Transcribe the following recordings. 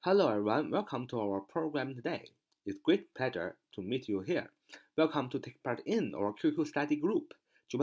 Hello everyone, welcome to our program today. It's great pleasure to meet you here. Welcome to take part in our QQ study group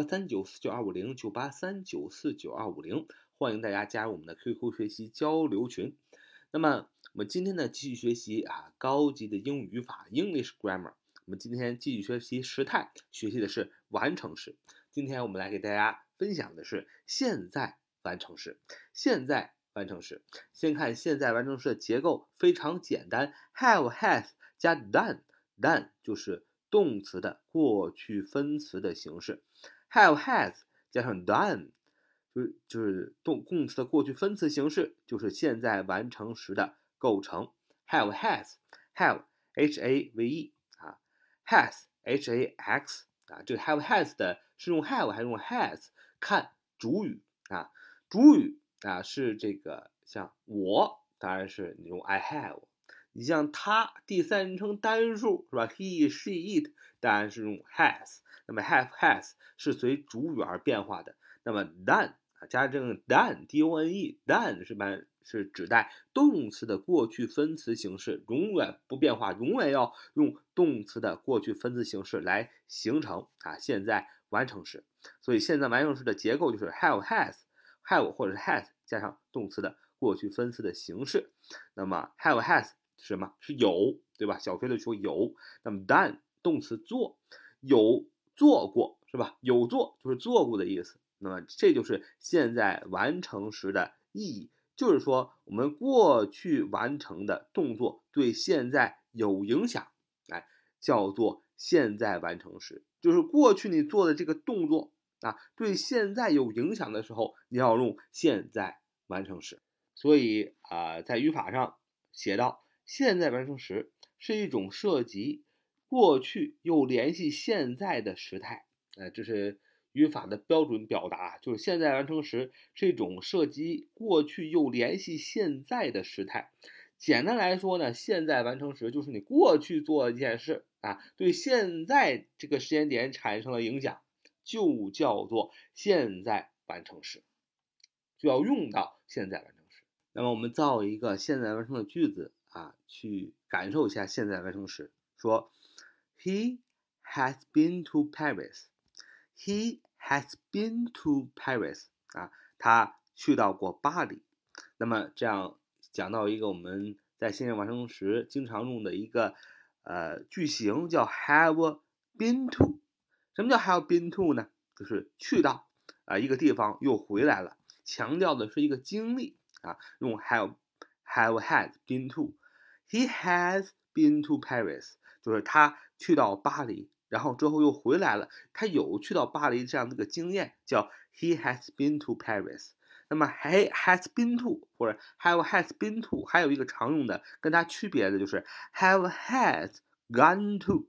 9839425，983949250，欢迎大家加入我们的 QQ 学习交流群。那么我们今天呢继续学习高级的英语语法 English Grammar。我们今天继续学习时态，学习的是完成时。今天我们来给大家分享的是现在完成时。现在完成时，先看现在完成时的结构非常简单 ，have has 加 done，done 就是动词的过去分词的形式 ，have has 加上 done 就是动词的过去分词形式，就是现在完成时的构成 ，have has have have has hax 这个 have has 的是用 have 还是用 has， 看主语主语是这个像我，当然是你用 I have。你像他第三人称单数是吧 ？He, she, it， 当然是用 has。那么 have has 是随主语而变化的。那么 done 加上这个 done 是指代动词的过去分词形式，永远不变化，永远要用动词的过去分词形式来形成现在完成时。所以现在完成时的结构就是 have has。have 或者是 has 加上动词的过去分词的形式。那么 have has 是什么？是有，对吧？小学的时候有。那么 done 动词做，有做过，是吧？有做就是做过的意思。那么这就是现在完成时的意义，就是说我们过去完成的动作对现在有影响，叫做现在完成时。就是过去你做的这个动作对现在有影响的时候，你要用现在完成时。所以在语法上写到，现在完成时是一种涉及过去又联系现在的时态。这是语法的标准表达，就是现在完成时是一种涉及过去又联系现在的时态。简单来说呢，现在完成时就是你过去做一件事对现在这个时间点产生了影响，就叫做现在完成时，就要用到现在完成时。那么我们造一个现在完成的句子去感受一下现在完成时。说 He has been to Paris. He has been to Paris. 他去到过巴黎。那么这样讲到一个我们在现在完成时经常用的一个句型叫 have been to。 什么叫 have been to 呢？就是去到一个地方又回来了，强调的是一个经历用 have has been to。 He has been to Paris 就是他去到巴黎，然后之后又回来了，他有去到巴黎这样的一个经验，叫 he has been to Paris。 那么 he has been to 或者 have has been to 还有一个常用的跟它区别的就是 have has gone to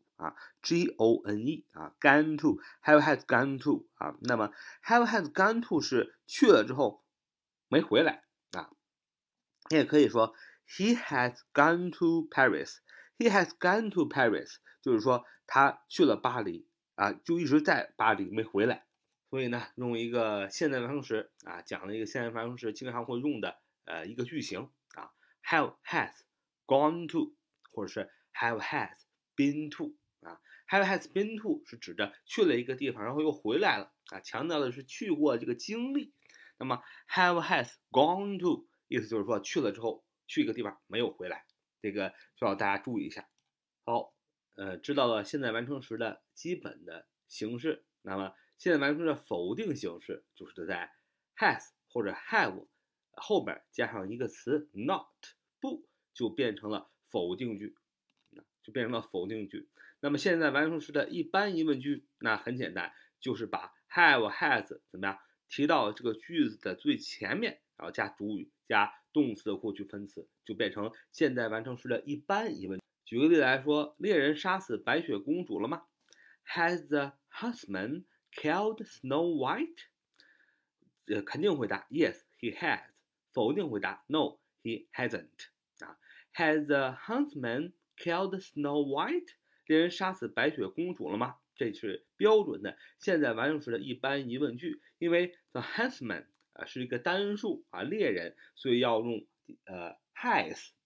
gone gone to have has gone to 那么 have has gone to 是去了之后没回来你也可以说 he has gone to Paris。 he has gone to Paris 就是说他去了巴黎就一直在巴黎没回来。所以呢，用一个现在完成时讲了一个现在完成时经常会用的一个句型have has gone to 或者是 have has been to have has been to 是指的去了一个地方然后又回来了强调的是去过这个经历。那么 have has gone to 意思就是说去了之后去一个地方没有回来，这个需要大家注意一下。好，知道了现在完成时的基本的形式。那么现在完成时的否定形式就是在 has 或者 have 后边加上一个词 not 不，就变成了否定句，那么现在完成时的一般疑问句，那很简单，就是把 have has 怎么样提到这个句子的最前面，然后加主语加动词的过去分词，就变成现在完成时的一般疑问句。举个例子来说，猎人杀死白雪公主了吗？ Has the huntsman killed Snow White？ 肯定回答 Yes, he has。 否定回答 No, he hasn't。 Has the huntsman killed Snow White？ 猎人杀死白雪公主了吗？这是标准的现在完成时的一般疑问句。因为 the huntsman是一个单数猎人，所以要用has。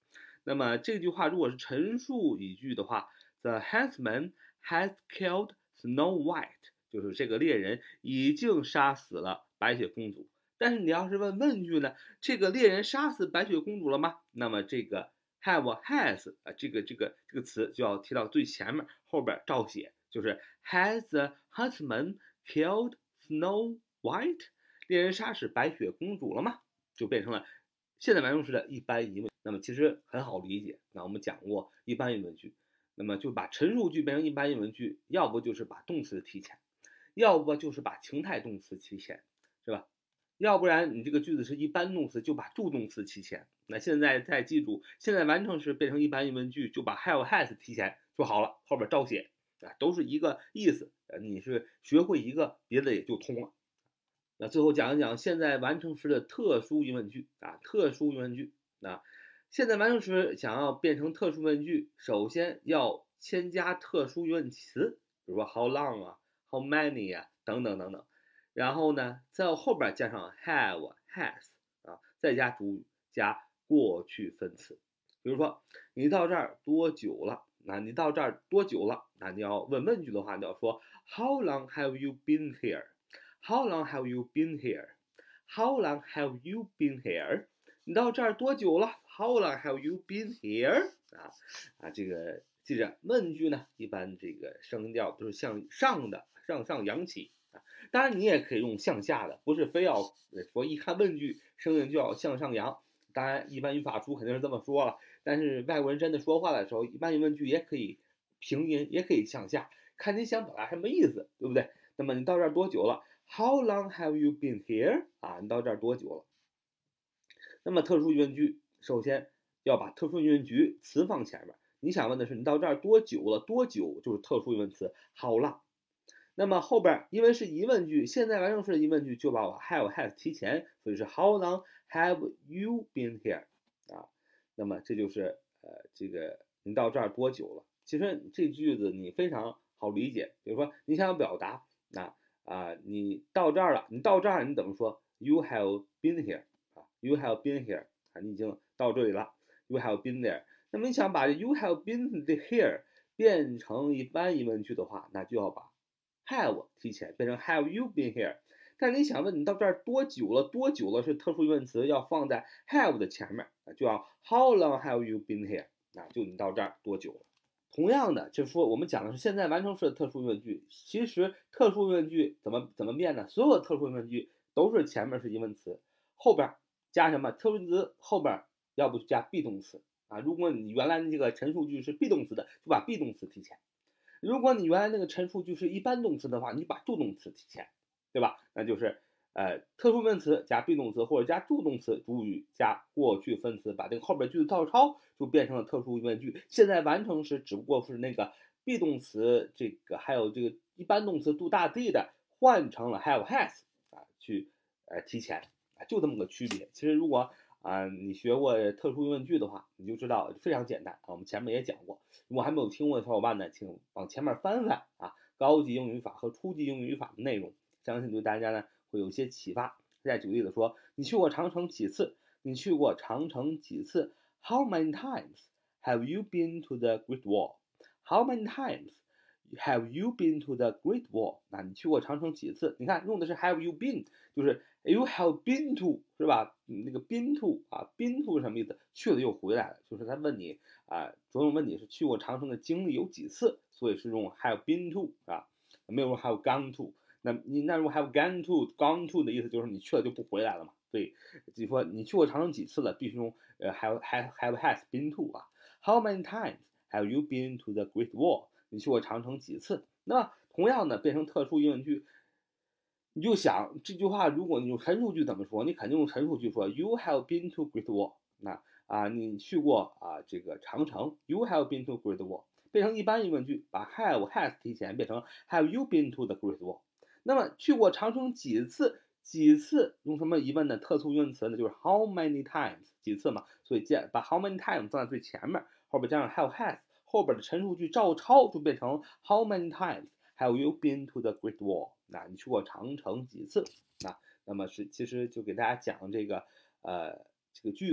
那么这句话如果是陈述语句的话 ，The huntsman has killed Snow White， 就是这个猎人已经杀死了白雪公主。但是你要是问句呢，这个猎人杀死白雪公主了吗？那么这个 have has 这个词就要提到最前面，后边照写，就是 Has the huntsman killed Snow White？ 猎人杀死白雪公主了吗？就变成了现在完成时的一般疑问。那么其实很好理解，那我们讲过一般疑问句，那么就把陈述句变成一般疑问句，要不就是把动词提前，要不就是把情态动词提前，是吧？要不然你这个句子是一般动词，就把助动词提前。那现在再记住，现在完成时变成一般疑问句，就把 have has 提前就好了，后边照写都是一个意思。你是学会一个，别的也就通了。那最后讲一讲现在完成时的特殊疑问句特殊疑问句现在完成时想要变成特殊疑问句，首先要先加特殊疑问词，比如说 how long how many等等等等。然后呢，在后边加上 have has 再加主语，加过去分词。比如说你到这儿多久了？你到这儿多久了？你要问问句的话，你要说 How long have you been here？ How long have you been here？ How long have you been here？ 你到这儿多久了 ？How long have you been here？ 这个记着，问句呢，一般这个声调都是向上的，向上扬起。当然你也可以用向下的，不是非要说一看问句声音就要向上扬。当然一般语法书肯定是这么说了，但是外国人真的说话的时候，一般疑问句也可以平音，也可以向下，看你想表达什么意思，对不对？那么你到这儿多久了 ？How long have you been here？ 你到这儿多久了？那么特殊疑问句首先要把特殊疑问句词放前面。你想问的是你到这儿多久了？多久就是特殊疑问词 how long。那么后边因为是疑问句，现在完成时的疑问句就把我 have has 提前，所以是 How long have you been here？ 那么这就是这个你到这儿多久了？其实这句子你非常好理解，比如说你想要表达你到这儿了，你到这儿你怎么说 ？You have been here You have been here 你已经到这里了 ，You have been there。那么你想把 You have been here 变成一般疑问句的话，那就要把have 提前变成 Have you been here？ 但是你想问你到这儿多久了？多久了是特殊疑问词，要放在 have 的前面，就要 How long have you been here？ 就你到这儿多久了？同样的，就是说我们讲的是现在完成时的特殊疑问句，其实特殊疑问句怎么变呢？所有的特殊疑问句都是前面是疑问词，后边加什么？特殊疑问词后边要不就加 be 动词如果你原来这个陈述句是 be 动词的，就把 be 动词提前。如果你原来那个陈述句是一般动词的话，你就把助动词提前，对吧？那就是特殊分词加 be 动词或者加助动词主语加过去分词，把这个后边句子照抄，就变成了特殊疑问句。现在完成时只不过是那个 be 动词这个还有这个一般动词 do 大 d 的换成了 have has 去提前就这么个区别。其实如果你学过特殊疑问句的话，你就知道非常简单我们前面也讲过。如果还没有听过的小伙伴呢，请往前面翻翻高级英语法和初级英语法的内容，相信对大家呢会有一些启发。再举例子说，你去过长城几次？你去过长城几次 ？How many times have you been to the Great Wall? How many times have you been to the Great Wall？ 你去过长城几次？你看用的是 have you been， 就是 you have been to 是吧？那个 been to been to 什么意思？去了又回来了，就是他问你着重问你是去过长城的经历有几次，所以是用 have been to 没有用 have gone to。那如果 have gone to 的意思就是你去了就不回来了嘛？所以就说你去过长城几次了，必须用have has been to How many times have you been to the Great Wall？ 你去过长城几次？那同样的变成特殊疑问句，你就想这句话，如果你用陈述句怎么说？你肯定用陈述句说 You have been to Great Wall。你去过这个长城 You have been to Great Wall。变成一般疑问句，把 have has 提前变成 Have you been to the Great Wall？ 那么去过长城几次？几次用什么疑问的特殊疑问词呢？就是 How many times 几次嘛，所以把 How many times 放在最前面，后边加上 have has， 后边的陈述句照抄就变成 How many times have you been to the Great Wall？ 你去过长城几次？那么其实就给大家讲这个句子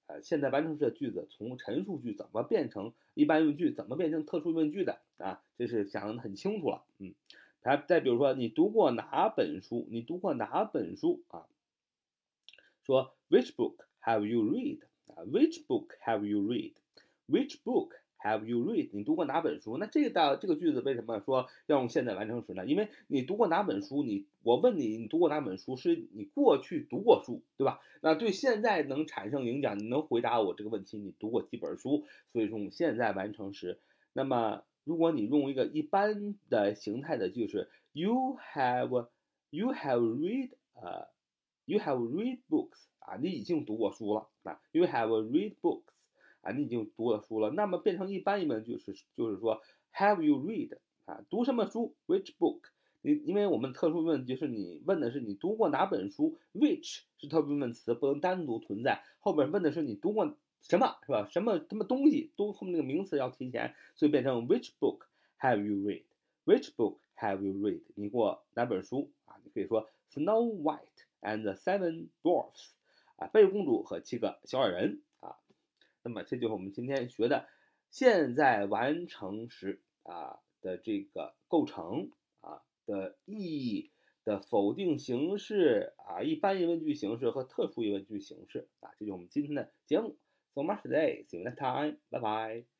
现在完成时的句子从陈述句怎么变成一般用句，怎么变成特殊问句的啊，这是讲得很清楚了。再比如说你读过哪本书？你读过哪本书啊？说 Which book have you read？ Which book have you read？ Which book have you read？ 你读过哪本书？那这个句子为什么说要用现在完成时呢？因为你读过哪本书，我问你，你读过哪本书，是你过去读过书，对吧？那对现在能产生影响，你能回答我这个问题，你读过几本书？所以说用现在完成时。那么如果你用一个一般的形态的句式 you have read you have read books 啊，你已经读过书了啊 you have read books 啊，你已经读了书了。那么变成一般疑问句就是说 have you read 啊，读什么书 which book？ 因为我们特殊疑问句是你问的是你读过哪本书 which 是特殊疑问词，不能单独存在，后边问的是你读过什么，是吧？什么东西都后面那个名词要提前，所以变成 which book have you read？ Which book have you read？ 你过哪本书啊？你可以说 Snow White and the Seven Dwarfs 啊，白雪公主和7个小矮人啊。那么这就是我们今天学的现在完成时啊的这个构成啊的意义的否定形式啊，一般疑问句形式和特殊疑问句形式啊，这就是我们今天的节目。So much today. See you next time. Bye bye.